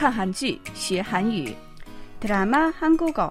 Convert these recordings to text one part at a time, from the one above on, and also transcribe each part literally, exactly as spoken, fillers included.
看韩剧学韩语 드라마 한국어.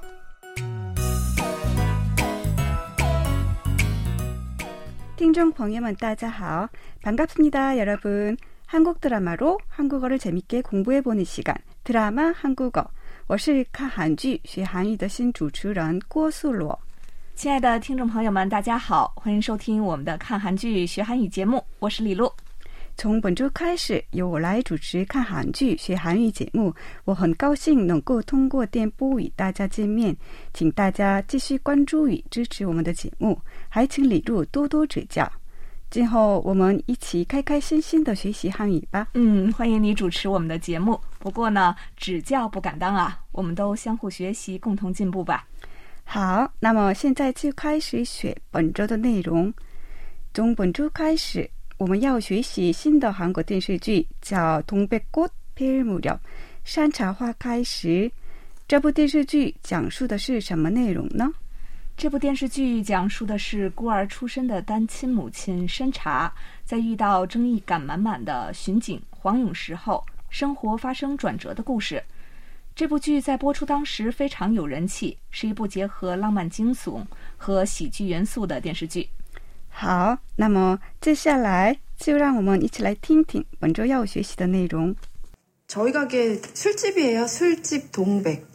听众朋友们大家好. 반갑습니다, 여러분. 한국 드라마로 한국어를 재밌게 공부해보는 시간, 드라마 한국어. 我是看韩剧学韩语的新主持人郭素罗。 亲爱的听众朋友们大家好，欢迎收听我们的看韩剧学韩语节目，我是李璐。 从本周开始，由我来主持看韩剧学韩语节目，我很高兴能够通过电波与大家见面，请大家继续关注与支持我们的节目，还请李璐多多指教。今后我们一起开开心心的学习汉语吧。 嗯，欢迎你主持我们的节目。不过呢，指教不敢当啊，我们都相互学习，共同进步吧。 好，那么现在就开始学本周的内容。从本周开始，我们要学习新的韩国电视剧，叫《동백꽃 피울 무렵》，山茶花开时。这部电视剧讲述的是什么内容呢？ 这部电视剧讲述的是孤儿出身的单亲母亲山茶，在遇到正义感满满的巡警黄永时后，生活发生转折的故事。这部剧在播出当时非常有人气，是一部结合浪漫惊悚和喜剧元素的电视剧。 好，那么接下来就让我们一起来听听本周要学习的内容。 저희 가게 술집이에요. 술집 동백.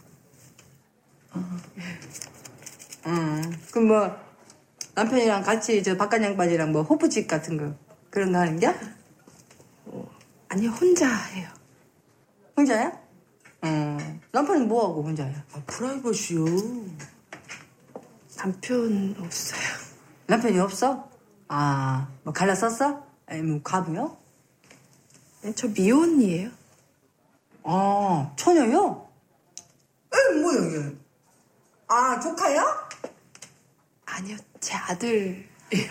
음, 그럼 뭐 남편이랑 같이 저 바깥 양반이랑 뭐 호프집 같은 거 그런 거 하는 게? 어, 아니요, 혼자 해요. 혼자야? 음, 남편은 뭐 하고 혼자야? 아, 프라이버시요. 남편 없어요. 남편이 없어? 아, 뭐 갈라섰어? 아니면 과부요? 네, 저 미혼이에요. 아, 처녀요? 에, 뭐야 이게? 아, 조카야? 아니요, 제 아들이에요.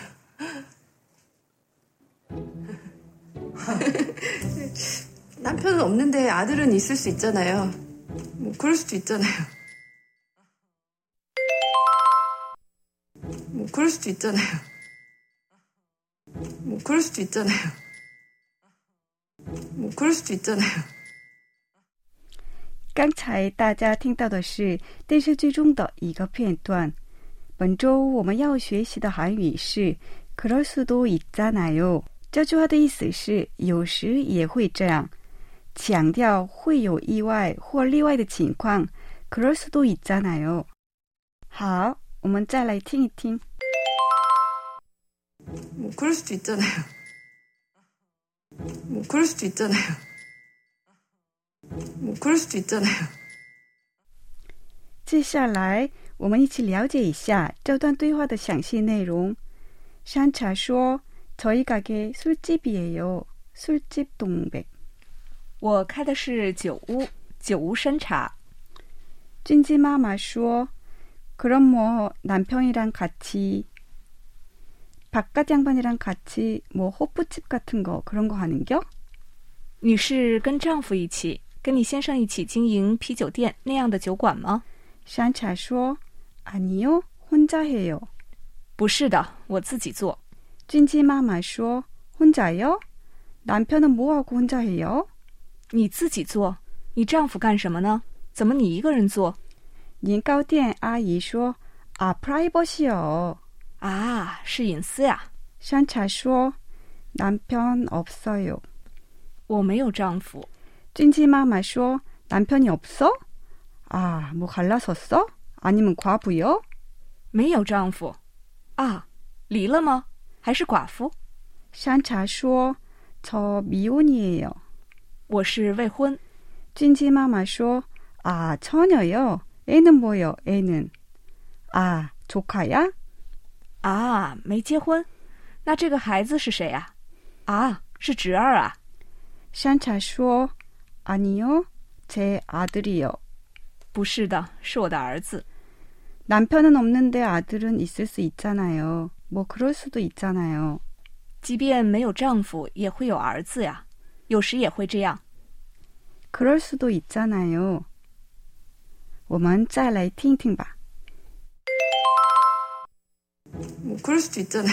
남편은 없는데 아들은 있을 수 있잖아요. 뭐 그럴 수도 있잖아요. 뭐 그럴 수도 있잖아요. 뭐 그럴 수도 있잖아요. 뭐 그럴 수도 있잖아요. 刚才大家听到的是电视剧中的一个片段。本周我们要学习的韩语是그럴 수도 있잖아요。这句话的意思是有时也会这样，强调会有意外或例外的情况。그럴 수도 있잖아요。好，我们再来听一听。 뭐 그럴 수도 있잖아요. 뭐 그럴 수도 있잖아요. 뭐 그럴 수도 있잖아요. 接下来我们一起了解一下这段对话的详细内容。山茶说 저희 가게 술집이에요. 술집 동백. 我开的是酒屋，酒屋山茶。 찐지妈妈说 그럼 뭐 남편이랑 같이 바깥 양반이랑 같이 뭐 호프집 같은 거 그런 거 하는겨? 你是跟丈夫一起，跟你先生一起经营啤酒店那样的酒馆吗？ 山茶说 아니요, 혼자 해요. 不是的，我自己做。 찐지妈妈说 혼자요? 남편은 뭐하고 혼자 해요? 你自己做，你丈夫干什么呢？怎么你一个人做？ 年糕店阿姨说 아, 프라이버시요. 啊，是隐私呀。 山茶说 남편 없어요. 我没有丈夫。 찐지妈妈说 남편이 없어? 아, 뭐 갈라섰어? 아니면 과부요? 没有丈夫。啊，离了吗？还是寡妇？ 山茶说 저 미혼이에요. 我是未婚。 찐지妈妈说 아, 처녀요? 애는 뭐요, 애는? 아, 조카야? 啊，没结婚。那这个孩子是谁啊？啊，是侄儿啊。 山茶说 아니요, 제 아들이요. 不是的，是我的儿子。 남편은 없는데 아들은 있을 수 있잖아요. 뭐 그럴 수도 있잖아요. 即便没有丈夫，也会有儿子呀，有时也会这样。 그럴 수도 있잖아요. 我们再来听听吧。 뭐 그럴 수도 있잖아요.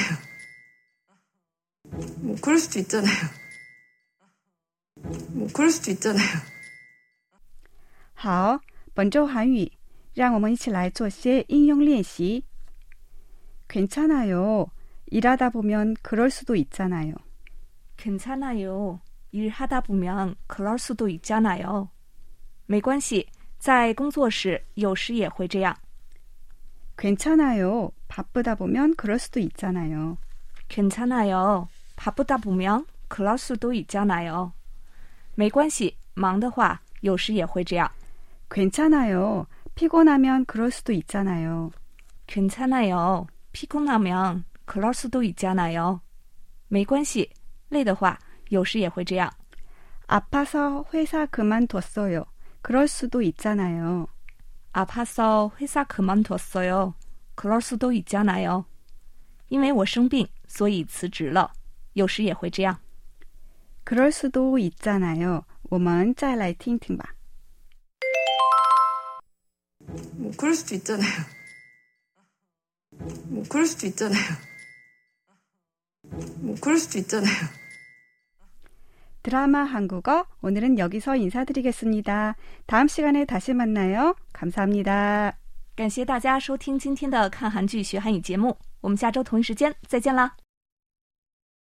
뭐 그럴 수도 있잖아요. 뭐 그럴 수도 있잖아요. 好，本周韩语让我们一起来做些应用练习。 괜찮아요. 일하다 보면 그럴 수도 있잖아요. 괜찮아요. 일하다 보면 그럴 수도 있잖아요. 没关系，在工作时有时也会这样。 괜찮아요. 바쁘다 보면 그럴 수도 있잖아요. 괜찮아요. 바쁘다 보면 그럴 수도 있잖아요. 没关系，忙的话有时也会这样。 괜찮아요. 피곤하면 그럴 수도 있잖아요. 괜찮아요. 피곤하면 그럴 수도 있잖아요. 没关系，累的话有时也会这样。 아파서 회사 그만뒀어요. 그럴 수도 있잖아요. 아파서 회사 그만뒀어요. 그럴 수도 있잖아요. 因为我生病，所以辞职了。有时也会这样。 그럴 수도 있잖아요. 我们再来听听吧。 뭐 그럴 수도 있잖아요. 뭐 그럴 수도 있잖아요. 뭐 그럴 수도 있잖아요. 드라마 한국어 오늘은 여기서 인사드리겠습니다. 다음 시간에 다시 만나요. 감사합니다. 感谢大家收听今天的看韩剧学韩语节目，我们下周同一时间再见啦。